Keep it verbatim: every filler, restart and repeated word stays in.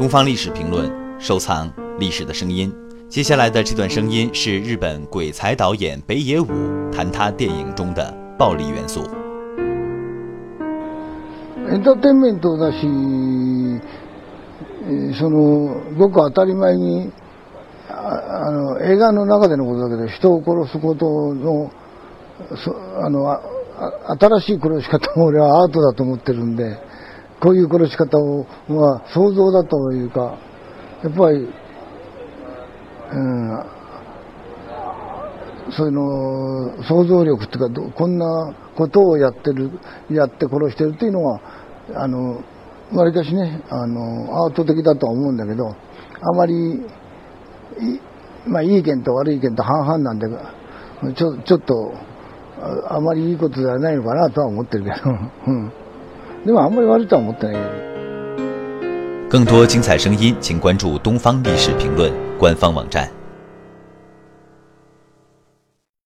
东方历史评论，收藏历史的声音。接下来的这段声音是日本鬼才导演北野武谈他电影中的暴力元素。 エンターテインメントだし、そのごく当たり前に あ, あの映画の中でのことだけど、人を殺すことのあのあ新しい殺し方も俺はアートだと思ってるんで、こういう殺し方を、まあ、想像だというか、やっぱり、うん、そういうの想像力っていうか、こんなことをやってるやって殺してるっていうのはあのわりかしね、あのアート的だとは思うんだけど、あまりまあいい意見と悪い意見と半々なんで、ちょちょっと あ, あまりいいことではないのかなとは思ってるけど、うん、でもあんまり悪いとは思ってない。 更多精彩声音，请关注东方历史评论官方网站。